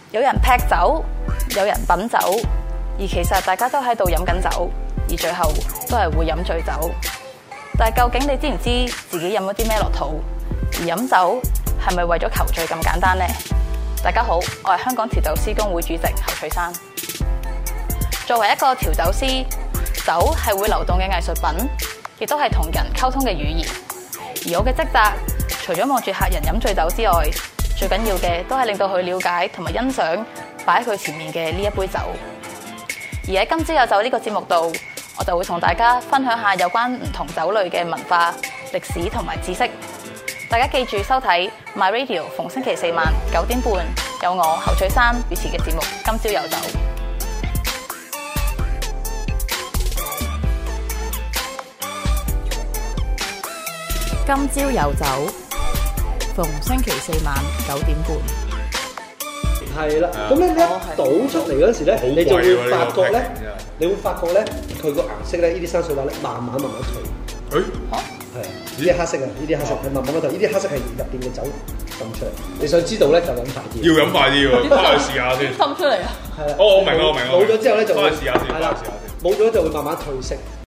有人劈酒，有人品酒，而其實大家都喺度飲緊酒，而最後都係會飲醉酒。但係究竟你知唔知自己飲咗啲咩落肚？而飲酒係咪為咗求醉咁簡單呢？大家好，我係香港調酒師公會主席侯翠珊。作為一個調酒師，酒係會流動嘅藝術品，亦都係同人溝通嘅語言。而我嘅職責，除咗望住客人飲醉酒之外，最緊要嘅都係令到佢了解同埋欣賞擺喺佢前面嘅呢一杯酒。而喺今朝有酒呢個節目度，我就會同大家分享下有關唔同酒類嘅文化、歷史同埋知識。大家記住收睇 My Radio， 逢星期四晚9點半，有我侯翠珊主持嘅節目《今朝有酒》。今朝有酒，逢星期四晚9點半。 係啦，咁咧一倒出嚟嗰時咧，你就會發覺咧，佢個顏色咧，呢啲生水畫咧，慢慢退。係啊，呢啲黑色啊，呢啲黑色係慢慢退，呢啲黑色係入邊嘅酒滲出嚟。你想知道咧，就飲快啲。 要飲快啲喎，翻去試下先。 滲出嚟啊！ 係啦。 哦，我明啦。 冇咗之後咧就翻去試下先。 係啦，冇咗就會慢慢褪色。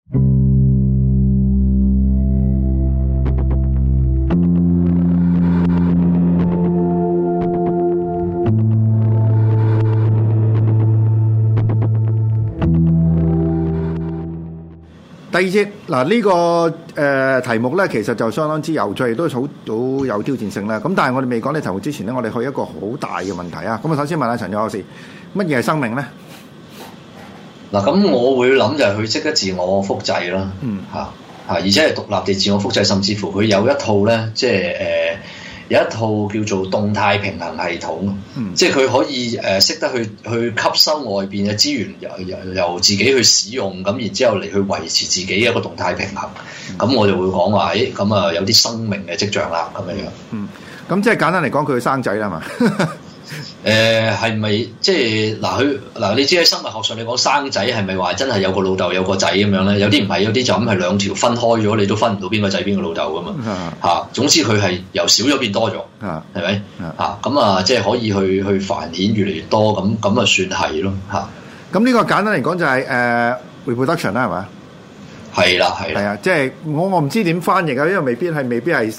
第二節嗱呢個題目咧，其實就相當之有趣，亦都好有挑戰性啦。咁但係我哋未講呢題目之前咧，我哋去一個好大嘅問題啊。咁啊，首先問下陳友博士，乜嘢係生命咧？ 嗱，咁我會諗就係佢識得自我複製啦，而且係獨立地自我複製，甚至乎佢有一套咧，即係有一套叫做動態平衡系統，即係佢可以識得去吸收外邊嘅資源，由自己去使用，咁然之後嚟去維持自己一個動態平衡。咁我就會講話，咁啊有啲生命嘅跡象啦，咁樣樣。 咁即係簡單嚟講，佢生仔啦嘛。 係咪即係嗱？你知喺生物學上，你講生仔係咪話真係有個老豆有個仔咁樣咧？有啲唔係，有啲就咁係兩條分開咗，你都分唔到邊個仔邊個老豆噶嘛。總之佢係由少咗變多咗，係咪？咁啊，即係可以去繁衍越嚟越多，咁啊算係咯嚇。 咁呢個簡單嚟講就係reproduction 啦，係咪？係啊，即係我唔知點翻譯啊，因為未必係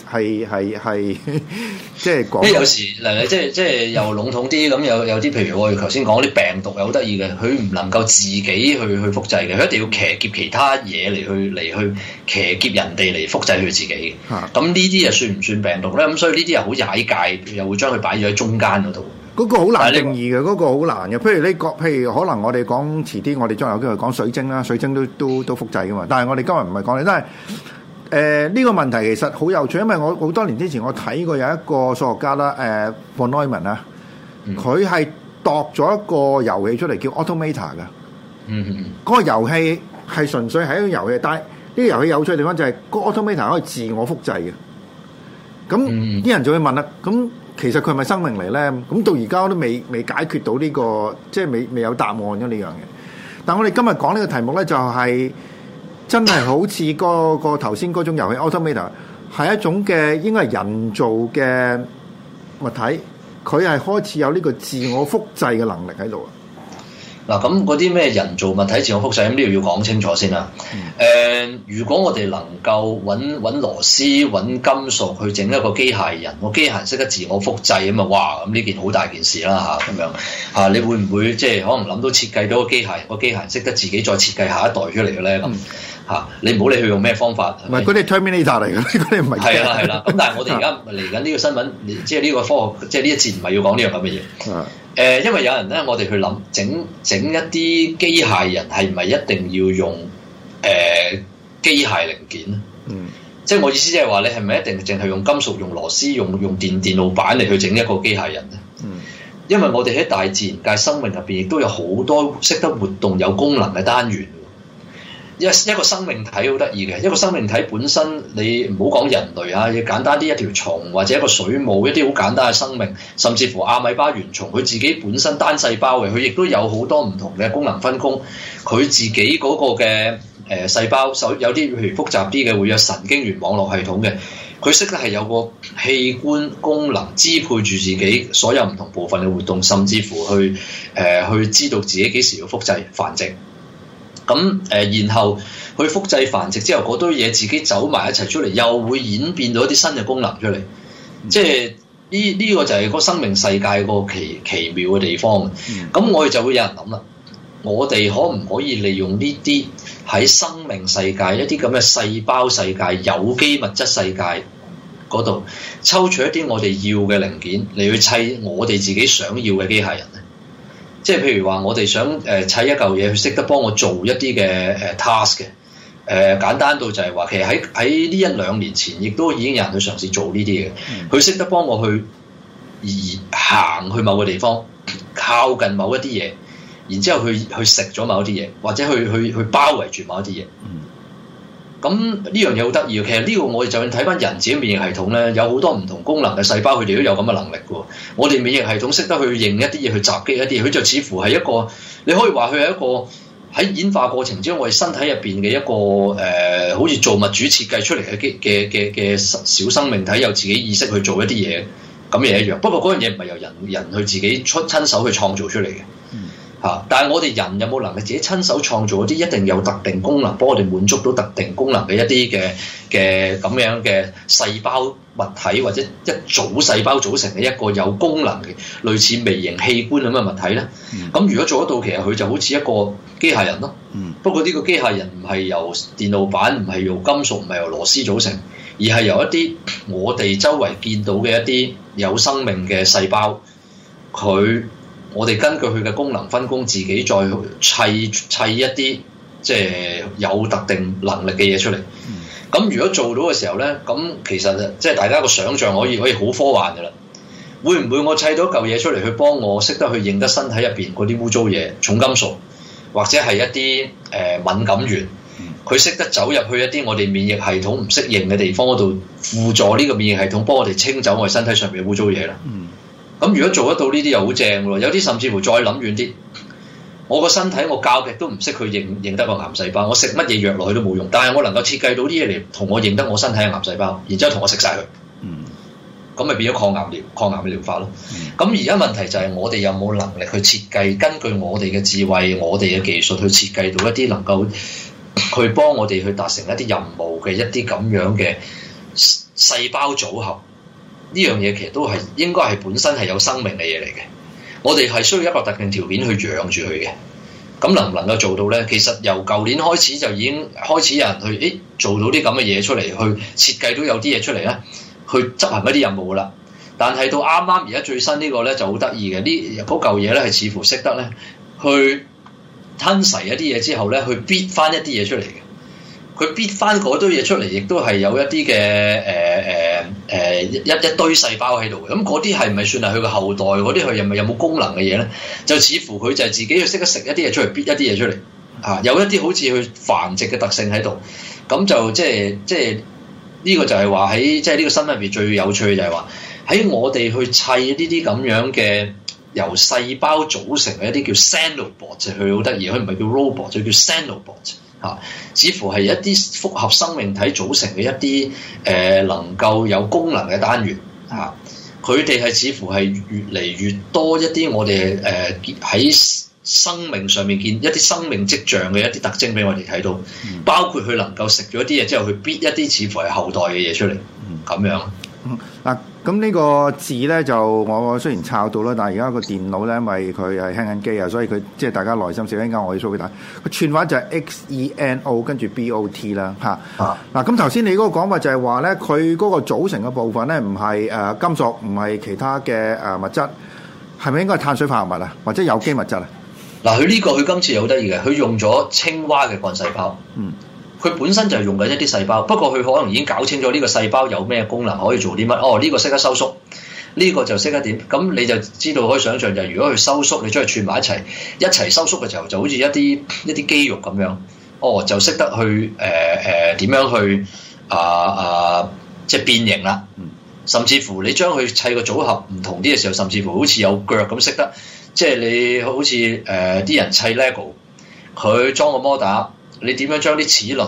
即係講。 有時嗱，即係又籠統啲咁，有啲譬如我哋頭先講啲病毒又好得意嘅，佢唔能夠自己去複製嘅，佢一定要騎劫其他嘢嚟去騎劫人哋嚟複製佢自己。咁呢啲又算唔算病毒咧？咁所以呢啲又好踩界，又會將佢擺咗喺中間嗰度。 嗰個好難定義嘅，嗰個好難嘅。譬如可能我哋講遲啲，我哋將來有機會講水晶啦，水晶都複製噶嘛。但係我哋今日唔係講你，但係呢個問題其實好有趣，因為我好多年之前我睇過有一個數學家啦，von Neumann 啊，佢係度咗一個遊戲出嚟叫 Automata 嘅。嗰個遊戲係純粹係一個遊戲，但係呢個遊戲有趣嘅地方就係個 Automata 可以自我複製嘅。咁啲人就會問啦，咁其實佢係咪生命嚟咧？咁到而家都未解決到呢個，即係未有答案咗呢樣嘢。但我哋今日講呢個題目咧，就係真係好似個頭先嗰種遊戲 Automata 係一種嘅應該係人造嘅物體，佢係開始有呢個自我複製嘅能力喺度啊！ 嗱，咁嗰啲咩人造物體自我複製，咁呢度要講清楚先啦。如果我哋能夠揾螺絲、揾金屬去整一個機械人，個機械人識得自我複製咁啊！哇，咁呢件好大件事啦嚇，咁樣嚇，你會唔會即係可能諗到設計到個機械人，個機械人識得自己再設計下一代出嚟嘅咧？咁嚇，你唔好理佢用咩方法。 唔係嗰啲 Terminator 嚟嘅，嗰啲唔係。 係啦。咁但係我哋而家嚟緊呢個新聞，即係呢個科學，即係呢一節唔係要講呢樣咁嘅嘢。因為有人咧，我哋去諗整一啲機械人係唔係一定要用機械零件咧？即係我意思即係話，你係咪一定淨係用金屬、用螺絲、用電路板嚟去整一個機械人咧？因為我哋喺大自然界生命入邊，亦都有好多識得活動、有功能嘅單元。一個生命體好得意嘅，一個生命體本身，你唔好講人類啊，要簡單啲一條蟲或者一個水母，一啲好簡單嘅生命，甚至乎阿米巴原蟲，佢自己本身單細胞嘅，佢亦都有好多唔同嘅功能分工，佢自己嗰個嘅細胞，有啲譬如複雜啲嘅會有神經元網絡系統嘅。 佢識得係有個器官功能支配住自己所有唔同部分嘅活動，甚至乎去知道自己幾時要複製繁殖。咁然後去複製繁殖之後，嗰堆嘢自己走埋一齊出嚟，又會演變到一啲新嘅功能出嚟。即係呢個就係個生命世界個奇妙嘅地方。咁我哋就會有人諗啦，我哋可唔可以利用呢啲喺生命世界一啲咁嘅細胞世界、有機物質世界嗰度抽取一啲我哋要嘅零件嚟去砌我哋自己想要嘅機械人咧？即係譬如話，我哋想砌一嚿嘢，佢識得幫我做一啲嘅task 嘅。簡單到就係話，其實喺呢1-2年前，亦都已經有人去嘗試做呢啲嘅。佢識得幫我去行去某個地方，靠近某一啲嘢，然之後去食咗某一啲嘢，或者去包圍住某一啲嘢。咁呢樣嘢好得意嘅。其實呢個我哋就算睇翻人自己免疫系統咧，有好多唔同功能嘅細胞，佢哋都有咁嘅能力嘅。我哋免疫系統識得去認一啲嘢，去襲擊一啲嘢，佢就似乎係一個，你可以話佢係一個喺演化過程之中，我哋身體入邊嘅一個好似造物主設計出嚟嘅小生命體，有自己意識去做一啲嘢咁嘢一樣。不過嗰樣嘢唔係由人去自己親手去創造出嚟嘅。但係我哋人有冇能力自己親手創造嗰啲一定有特定功能，幫我哋滿足到特定功能嘅一啲嘅咁樣嘅細胞物體，或者一組細胞組成嘅一個有功能嘅類似微型器官咁嘅物體咧？咁如果做得到，其實佢就好似一個機械人咯。不過呢個機械人唔係由電路板，唔係由金屬，唔係由螺絲組成，而係由一啲我哋周圍見到嘅一啲有生命嘅細胞，我哋根據佢嘅功能分工，自己再砌一啲即係有特定能力嘅嘢出嚟。咁如果做到嘅時候咧，咁其實即係大家個想像可以好科幻㗎啦。會唔會我砌到一嚿嘢出嚟，去幫我識得去認得身體入邊嗰啲污糟嘢、重金屬，或者係一啲敏感源，佢識得走入去一啲我哋免疫系統唔適應嘅地方嗰度，輔助呢個免疫系統幫我哋清走我哋身體上面嘅污糟嘢啦。咁如果做得到呢啲又好正喎，有啲甚至乎再諗遠啲，我個身體我教極都唔識去認得個癌細胞，我食乜嘢藥落去都冇用，但係我能夠設計到啲嘢嚟同我認得我身體嘅癌細胞，然之後同我食晒佢，咁咪變咗抗癌嘅療法咯。咁而家問題就係我哋有冇能力去設計，根據我哋嘅智慧、我哋嘅技術去設計到一啲能夠去幫我哋去達成一啲任務嘅一啲咁樣嘅細胞組合。呢樣嘢其實都係應該係本身係有生命嘅嘢嚟嘅，我哋係需要一個特定條件去養住佢嘅。咁能唔能夠做到呢？其實由舊年開始就已經開始有人去做到啲咁嘅嘢出嚟，去設計到有啲嘢出嚟咧，去執行一啲任務啦。但係到啱啱而家最新呢個咧就好得意嘅，呢嗰嚿嘢咧係似乎識得咧去吞噬一啲嘢之後咧，去逼翻一啲嘢出嚟嘅。佢逼翻嗰堆嘢出嚟，亦都係有一啲嘅一堆細胞喺度嘅。咁嗰啲係咪算係佢嘅後代？嗰啲佢係咪有冇功能嘅嘢咧？就似乎佢就係自己去識得食一啲嘢出嚟，逼一啲嘢出嚟嚇，有一啲好似去繁殖嘅特性喺度。咁就即係呢個就係話喺即係呢個新聞入邊最有趣嘅就係話喺我哋去砌呢啲咁樣嘅由細胞組成嘅一啲叫 Xenobot， 佢好得意，佢唔係叫 robot， 就叫 Xenobot。似乎係一啲複合生命體組成嘅一啲能夠有功能嘅單元嚇，佢哋係似乎係越嚟越多一啲我哋喺生命上面見一啲生命跡象嘅一啲特徵俾我哋睇到，包括佢能夠食咗啲嘢之後，佢逼一啲似乎係後代嘅嘢出嚟，咁樣。 嗱，咁呢個字咧就我雖然抄到啦，但係而家個電腦咧，因為佢係輕緊機啊，所以佢即係大家耐心少，一陣間我要 show 俾大家。個串法就係 XENO 跟住 BOT 啦，嚇。嗱，咁頭先你嗰個講法就係話咧，佢嗰個組成嘅部分咧，唔係金屬，唔係其他嘅物質，係咪應該係碳水化合物啊，或者有機物質啊？ 嗱，佢今次好得意嘅，佢用咗青蛙嘅幹細胞。佢本身就係用緊一啲細胞，不過佢可能已經搞清楚呢個細胞有咩功能，可以做啲乜。哦，呢個識得收縮，呢個就識得點。咁你就知道可以想象就係，如果佢收縮，你將佢串埋一齊收縮嘅時候，就好似一啲肌肉咁樣。哦，就識得去點樣去即係變形啦。甚至乎你將佢砌個組合唔同啲嘅時候，甚至乎好似有腳咁識得，即係你好似啲人砌 Lego，佢裝個摩打。你點樣將啲齒輪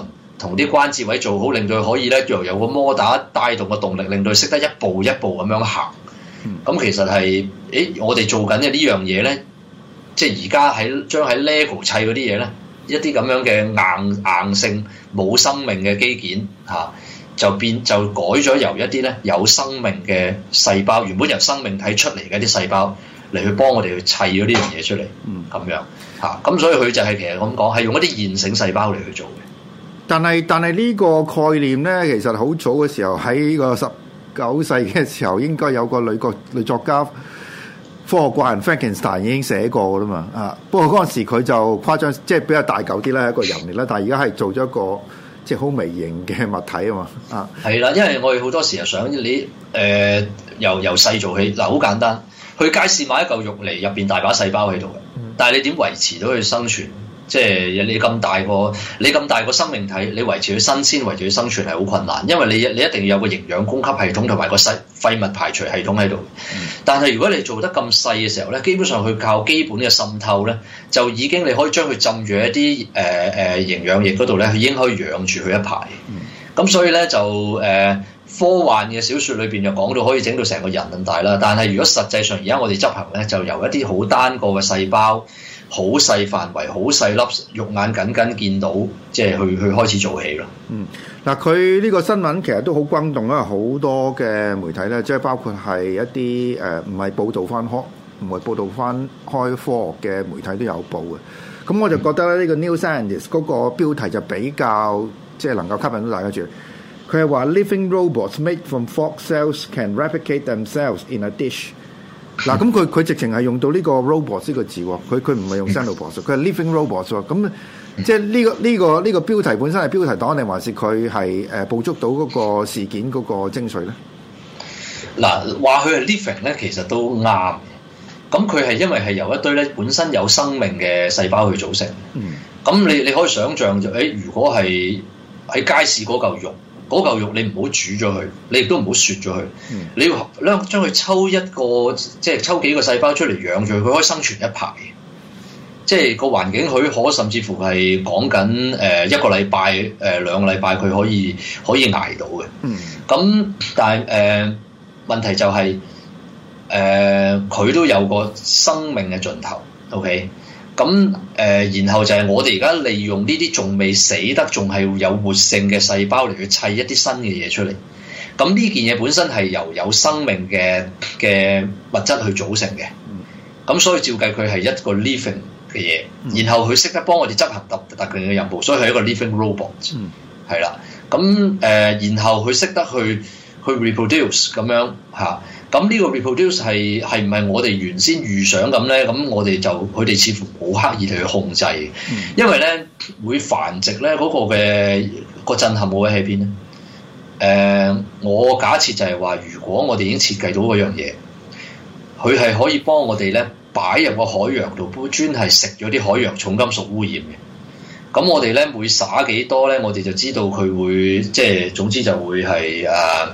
同啲關節位做好，令到佢可以咧又有個摩打帶動嘅動力，令到佢識得一步一步咁樣行。咁其實係我哋做緊嘅呢樣嘢咧，即係而家將喺 LEGO 砌嗰啲嘢咧，一啲咁樣嘅硬性冇生命嘅機件就改咗由一啲咧有生命嘅細胞，原本由生命體出嚟嘅啲細胞嚟去幫我哋去砌咗呢樣嘢出嚟，咁樣咁所以佢就係其實咁講，係用一啲現成細胞嚟去做嘅。 但係呢個概念咧，其實好早嘅時候喺個19世紀嘅時候，應該有個女作家科學怪人 Frankenstein 已經寫過噶啦嘛。不過嗰陣時佢就誇張，即係比較大嚿啲啦，一個人嚟啦。但係而家係做咗一個即係好微型嘅物體啊嘛。 係啦，因為我哋好多時候想你由細做起嗱，好簡單，去街市買一嚿肉嚟，入邊大把細胞喺度嘅，但係你點維持到佢生存？即係你咁大個生命體，你維持佢新鮮，維持佢生存係好困難，因為你一定要有個營養供給系統同埋個廢物排除系統喺度。但係如果你做得咁細嘅時候咧，基本上佢靠基本嘅滲透咧，就已經你可以將佢浸住一啲營養液嗰度咧，佢已經可以養住佢一排。咁所以咧就科幻嘅小説裏邊就講到可以整到成個人咁大啦。但係如果實際上而家我哋執行咧，就由一啲好單個嘅細胞，好細範圍、好細粒，肉眼緊見到，即係去開始做起咯。 嗱，佢呢個新聞其實都好轟動啦，好多嘅媒體咧，即係包括係一啲唔係報導翻開科學嘅媒體都有報嘅。咁我就覺得咧，呢個 New Scientist 嗰個標題就比較即係能夠吸引到大家注意。佢係話 Living robots made from frog cells can replicate themselves in a dish。嗱，咁佢直情係用到呢個 robots 呢個字喎，佢唔係用 xenobots，佢係 living robots 喎。咁即係呢個標題本身係標題黨定還是佢係捕捉到嗰個事件嗰個精髓咧？嗱， 話佢係 living 咧，其實都啱。咁佢係因為係由一堆咧本身有生命嘅細胞去組成。咁你可以想像就如果係喺街市嗰嚿肉。嗰嚿肉你唔好煮咗佢，你亦都唔好雪咗佢。你要將佢抽一個，即係抽幾個細胞出嚟養住佢，佢可以生存一排。即係個環境許可，甚至乎係講緊一個禮拜、兩個禮拜，佢可以捱到嘅。咁但係問題就係佢都有個生命嘅盡頭。OK。咁然後就係我哋而家利用呢啲仲未死得、仲係有活性嘅細胞嚟去砌一啲新嘅嘢出嚟。咁呢件嘢本身係由有生命嘅物質去組成嘅。咁所以照計佢係一個 living 嘅嘢，然後佢識得幫我哋執行特定嘅任務，所以係一個 living robot。係啦。咁然後佢識得去 reproduce 咁樣嚇。咁呢個 reproduce 係唔係我哋原先預想咁咧？咁佢哋似乎冇刻意地去控制，因為咧會繁殖咧嗰個震撼位喺邊咧？我假設就係話，如果我哋已經設計到嗰樣嘢，佢係可以幫我哋咧擺入個海洋度，專係食咗啲海洋重金屬污染嘅。咁我哋咧每灑幾多咧，我哋就知道佢會即係總之就會係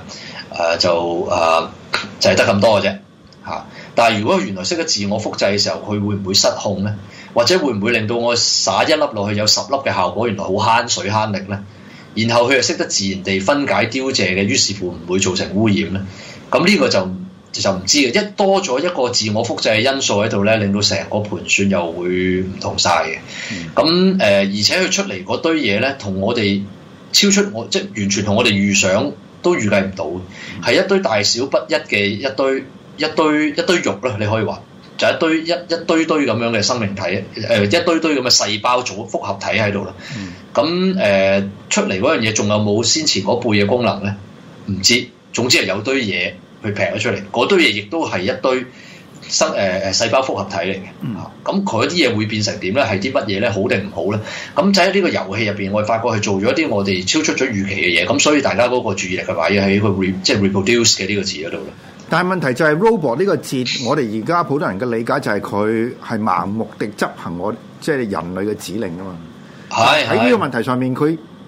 就係得咁多嘅啫嚇。但係如果原來識得自我複製嘅時候，佢會唔會失控咧？或者會唔會令到我撒一粒落去有10粒嘅效果？原來好慳水慳力咧。然後佢又識得自然地分解凋謝嘅，於是乎唔會造成污染咧。咁呢個就唔知嘅。一多咗一個自我複製嘅因素喺度咧，令到成個盤算又會唔同晒嘅。咁而且佢出嚟嗰堆嘢咧，同我哋超出我即係完全同我哋預想都預計唔到，係一堆大小不一嘅一堆肉啦，你可以話就一堆咁樣嘅生命體，一堆咁嘅細胞組複合體喺度啦。咁出嚟嗰樣嘢仲有冇先前嗰輩嘅功能咧？唔知，總之係有堆嘢去劈咗出嚟，嗰堆嘢亦都係一堆細胞複合體嚟嘅。咁佢啲嘢會變成點咧？係啲乜嘢咧？好定唔好咧？咁就喺呢個遊戲入邊，我哋發覺係做咗一啲我哋超出咗預期嘅嘢。咁所以大家嗰個注意力嘅擺喺個即係 reproduce 嘅呢個字嗰度啦。但係問題就係 robot 呢個字，我哋而家普通人嘅理解就係佢係盲目地執行我即係人類嘅指令啊嘛。喺呢個問題上面，佢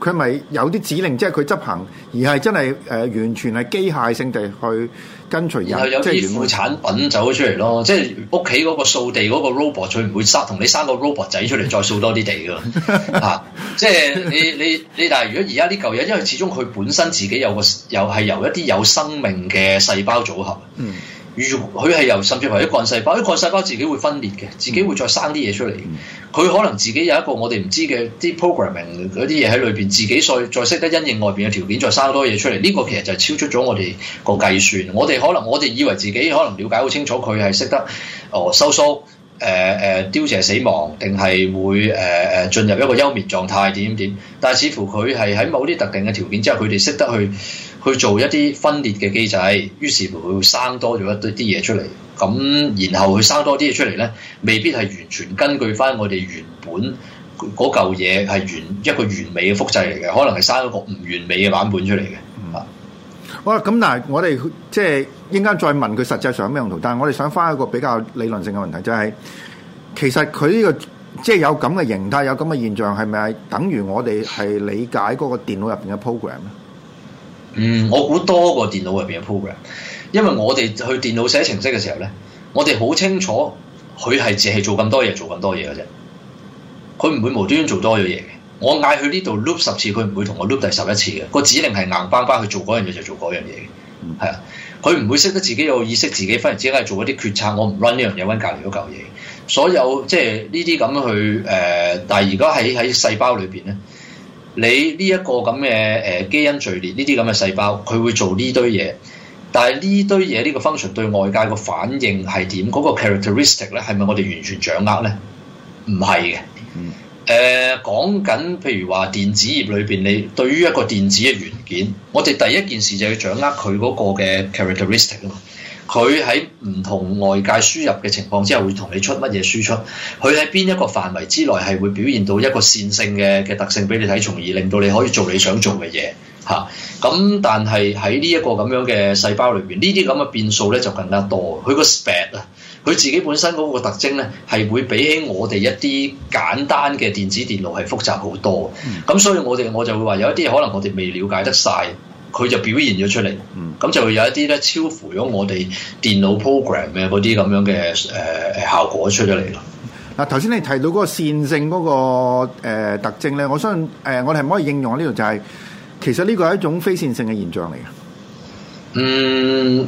佢咪有啲指令，即係佢執行，而係真係完全係機械性地去跟隨人， 然後有啲副產品走咗出嚟咯。即係屋企嗰個掃地嗰個 robot，佢唔會同你生個 robot 仔出嚟再掃多啲地㗎。嚇！即係你，但係如果而家呢嚿嘢，因為始終佢本身自己有係由一啲有生命嘅細胞組合。佢係由甚至乎一幹細胞，啲幹細胞自己會分裂嘅，自己會再生啲嘢出嚟。佢可能自己有一個我哋唔知嘅啲 programming 嗰啲嘢喺裏邊，自己再識得因應外邊嘅條件，再生多嘢出嚟。呢個其實就係超出咗我哋個計算。我哋以為自己可能了解好清楚，佢係識得收縮。凋謝死亡，定係會進入一個休眠狀態點，但係似乎佢係喺某啲特定嘅條件之下，佢哋識得去做一啲分裂嘅機制，於是乎佢生多咗一啲嘢出嚟，咁然後佢生多啲嘢出嚟咧，未必係完全根據翻我哋原本嗰嚿嘢係一個完美嘅複製嚟嘅，可能係生一個唔完美嘅版本出嚟嘅。 好啦，咁但係我哋即係應該再問佢實際上有咩用途，但係我哋想翻一個比較理論性嘅問題，就係其實佢呢個即係有咁嘅形態，有咁嘅現象，係咪等於我哋係理解嗰個電腦入邊嘅 program 咧？ 我估多過電腦入邊嘅 program， 因為我哋去電腦寫程式嘅時候咧，我哋好清楚佢係淨係做咁多嘢嘅啫，佢唔會無端端做多咗嘢嘅。我嗌佢呢度 loop 10次，佢唔會同我 loop 第11次嘅。個指令係硬邦邦去做嗰樣嘢就做嗰樣嘢嘅，係啊，佢唔會識得自己有意識，自己忽然之間做一啲決策。我唔 run 呢樣嘢，run 隔離嗰嚿嘢。所有即係呢啲咁去但係而家喺細胞裏邊咧，你呢一個咁嘅基因序列呢啲咁嘅細胞，佢會做呢堆嘢。但係呢堆嘢呢個 function 對外界個反應係點？嗰個 characteristic 咧係咪我哋完全掌握咧？唔係嘅。講緊譬如話電子業裏邊，你對於一個電子嘅元件，我哋第一件事就要掌握佢嗰個嘅 characteristic 啊嘛。佢喺唔同外界輸入嘅情況之下，會同你出乜嘢輸出？佢喺邊一個範圍之內係會表現到一個線性嘅特性俾你睇，從而令到你可以做你想做嘅嘢嚇。咁但係喺呢一個咁樣嘅細胞裏邊，呢啲咁嘅變數咧就更加多。佢個 spec 啊〜佢自己本身嗰個特徵咧，係會比起我哋一啲簡單嘅電子電腦係複雜好多。咁所以我就會話有一啲可能我哋未了解得晒，佢就表現咗出嚟。咁就會有一啲咧超乎咗我哋電腦 program 嘅嗰啲咁樣嘅效果出咗嚟咯。 嗱，頭先你提到嗰個線性嗰個特徵咧，我相信我哋係唔可以應用喺呢度，就係其實呢個係一種非線性嘅現象嚟嘅。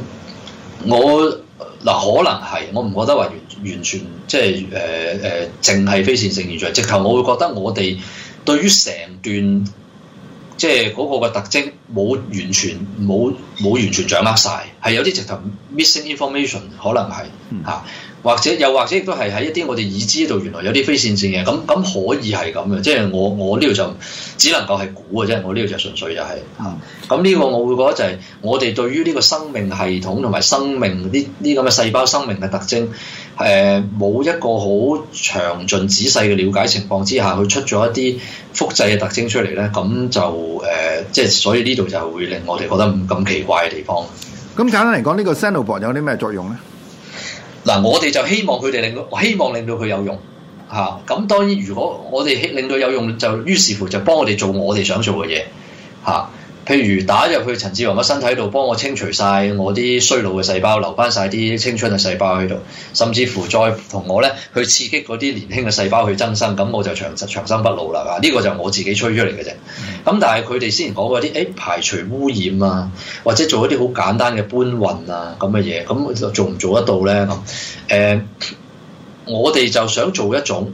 可能係，我唔覺得話完全即係淨係非線性現象。直頭我會覺得我哋對於成段即係嗰個嘅特徵冇完全掌握晒，係有啲直頭 missing information， 可能係嚇。或者亦都係喺一啲我哋已知道原來有啲非線性嘅，咁可以係咁嘅，即係我呢度就只能夠係估嘅啫，我呢度就純粹就係咁呢個我會覺得就係我哋對於呢個生命系統同埋生命呢咁嘅細胞生命嘅特徵，冇一個好詳盡仔細嘅了解情況之下，佢出咗一啲複製嘅特徵出嚟咧，咁就即係所以呢度就會令我哋覺得咁奇怪嘅地方。 咁簡單嚟講，呢個 Xenobot 有啲咩作用咧？ 嗱，我哋就希望令到佢有用嚇。咁當然，如果我哋令到有用，就於是乎就幫我哋做我哋想做嘅嘢嚇。譬如打入去陳志宏嘅身體度，幫我清除晒我啲衰老嘅細胞，留翻晒啲青春嘅細胞喺度，甚至乎再同我咧去刺激嗰啲年輕嘅細胞去增生，咁我就長生不老啦。呢個就我自己吹出嚟嘅啫。咁但係佢哋先前講嗰啲排除污染啊，或者做一啲好簡單嘅搬運啊咁嘅嘢，咁做唔做得到咧？咁我哋就想做一種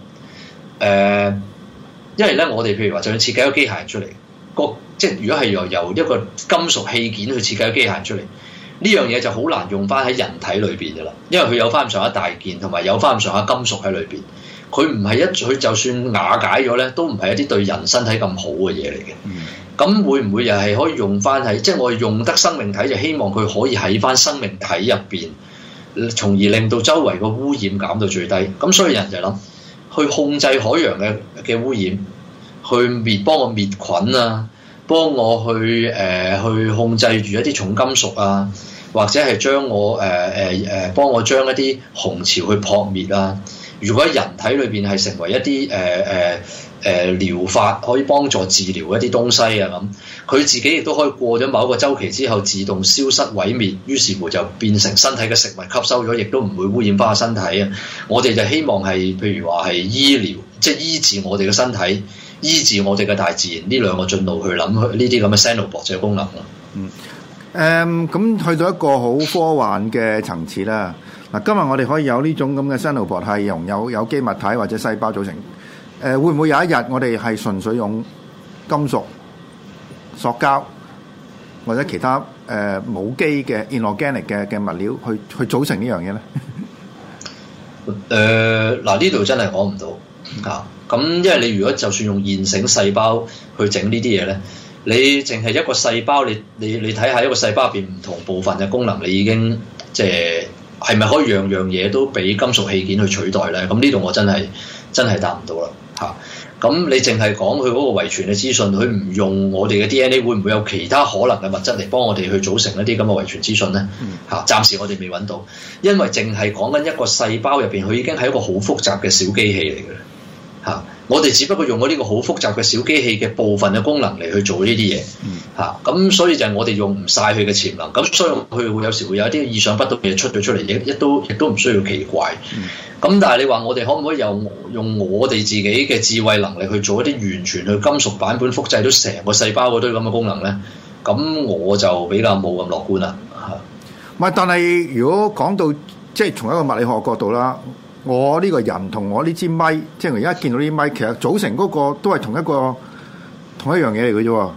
因為咧我哋譬如話就要設計一個機械人出嚟，即係如果係由一個金屬器件去設計個機械人出嚟，呢樣嘢就好難用翻喺人體裏邊噶啦，因為佢有翻咁上下大件，同埋有翻咁上下金屬喺裏邊，佢唔係佢就算瓦解咗咧，都唔係一啲對人身體咁好嘅嘢嚟嘅。咁會唔會又係可以用翻喺即係我哋用得生命體，就希望佢可以喺翻生命體入邊，從而令到周圍個污染減到最低。咁所以人就諗去控制海洋嘅污染，去幫我滅菌啊。幫我去控制住一啲重金屬啊，或者係將我幫我將一啲紅潮去撲滅啊， 如果人體裏邊係成為一啲療法可以幫助治療一啲東西啊咁，佢自己亦都可以過咗某一個週期之後自動消失毀滅，於是乎就變成身體嘅食物吸收咗，亦都唔會污染翻個身體啊！我哋就希望係譬如話係醫療，即係醫治我哋嘅身體，醫治我哋嘅大自然呢兩個進路去諗呢啲咁嘅 Xenobot 嘅功能咯。 咁去到一個好科幻嘅層次啦。嗱，今日我哋可以有呢種咁嘅 Xenobot 係由有機物體或者細胞組成。會唔會有一日我哋係純粹用金屬、塑膠或者其他冇機嘅 inorganic 嘅物料去組成呢樣嘢咧？ 嗱，呢度真係講唔到嚇。咁因為你如果就算用現成細胞去整呢啲嘢咧，你淨係一個細胞，你睇下一個細胞入邊唔同部分嘅功能，你已經即係咪可以樣樣嘢都俾金屬器件去取代咧？咁呢度我真係答唔到啦。咁你淨係講佢嗰個遺傳嘅資訊，佢唔用我哋嘅 DNA， 會唔會有其他可能嘅物質嚟幫我哋去組成一啲咁嘅遺傳資訊咧？暫時我哋未揾到，因為淨係講緊一個細胞入邊，佢已經係一個好複雜嘅小機器嚟嘅。我哋只不過用咗呢個好複雜嘅小機器嘅部分嘅功能嚟去做呢啲嘢。咁所以就係我哋用唔晒佢嘅潛能，咁所以佢會有時會有一啲意想不到嘅嘢出咗出嚟，亦都唔需要奇怪。咁但係你話我哋可唔可以用我哋自己嘅智慧能力去做一啲完全去金屬版本複製到成個細胞嗰堆咁嘅功能咧？咁我就比較冇咁樂觀啦。 唔係，但係如果講到即係從一個物理學角度啦，我呢個人同我呢支咪，即係我而家見到呢支咪，其實組成嗰個都係同一樣嘢嚟嘅啫。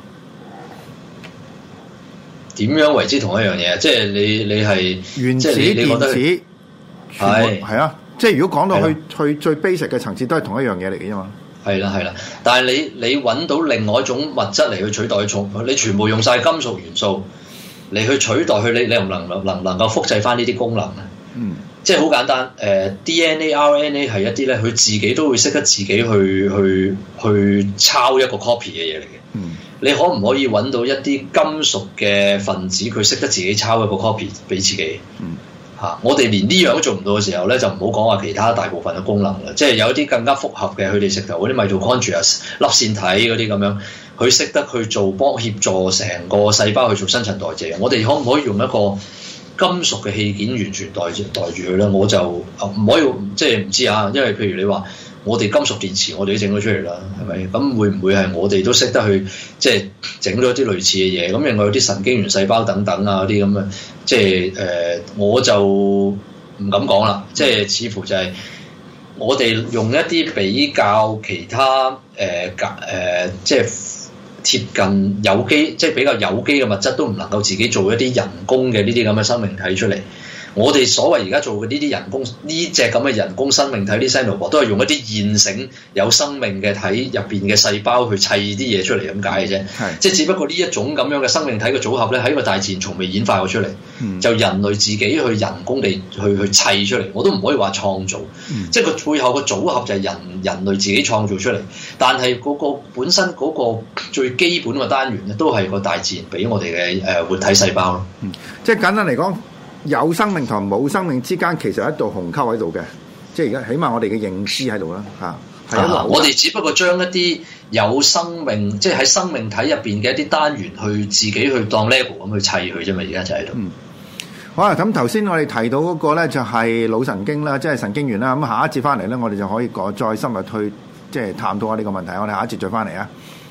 點樣為之同一樣嘢？即係你係原子、電子，係啊。即係如果講到去最 basic 嘅層次，都係同一樣嘢嚟嘅啫嘛。係啦，但係你揾到另外一種物質嚟去取代佢，你全部用晒金屬元素嚟去取代佢，你能唔能夠複製翻呢啲功能咧？即係好簡單。DNA、RNA 係一啲咧，佢自己都會識得自己去抄一個 copy 嘅嘢嚟嘅。你可唔可以揾到一啲金屬嘅分子，佢識得自己抄一個 copy 俾自己？我哋連呢樣都做唔到嘅時候咧，就唔好講話其他大部分嘅功能啦。即係有一啲更加複合嘅，佢哋直頭嗰啲 mitochondria 粒線體嗰啲咁樣，佢識得去幫協助成個細胞去做新陳代謝。我哋可唔可以用一個金屬嘅器件完全代住佢咧？我就唔可以，即係唔知啊。因為譬如你話我哋金屬電池，我哋都整咗出嚟啦，係咪？咁會唔會係我哋都識得去即係整咗啲類似嘅嘢？咁另外有啲神經元細胞等等啊，啲咁嘅。即係我就唔敢講啦。即係似乎就係我哋用一啲比較其他即係貼近有機，即係比較有機嘅物質，都唔能夠自己做一啲人工嘅呢啲咁嘅生命體出嚟。我哋所謂而家做嘅呢啲人工呢隻咁嘅人工生命體，啲 Xenobot 都係用一啲現成有生命嘅體入邊嘅細胞去砌啲嘢出嚟咁解嘅啫。即係只不過呢一種咁樣嘅生命體嘅組合咧，喺個大自然從未演化過出嚟。就人類自己去人工地去砌出嚟，我都唔可以話創造。即係佢背後個組合就係人類自己創造出嚟，但係嗰個本身嗰個最基本嘅單元咧，都係個大自然俾我哋嘅活體細胞咯。 即係簡單嚟講，有生命同冇生命之間其實有一道鴻溝喺度嘅，即係而家起碼我哋嘅認知喺度啦嚇。 我哋只不過將一啲有生命，即係喺生命體入邊嘅一啲單元去自己去當 Lego 咁去砌佢啫嘛，而家就喺度。 好啊，咁頭先我哋提到嗰個咧就係腦神經啦，即係神經元啦。咁下一節翻嚟咧，我哋就可以再深入去即係探討下呢個問題。我哋下一節再翻嚟啊。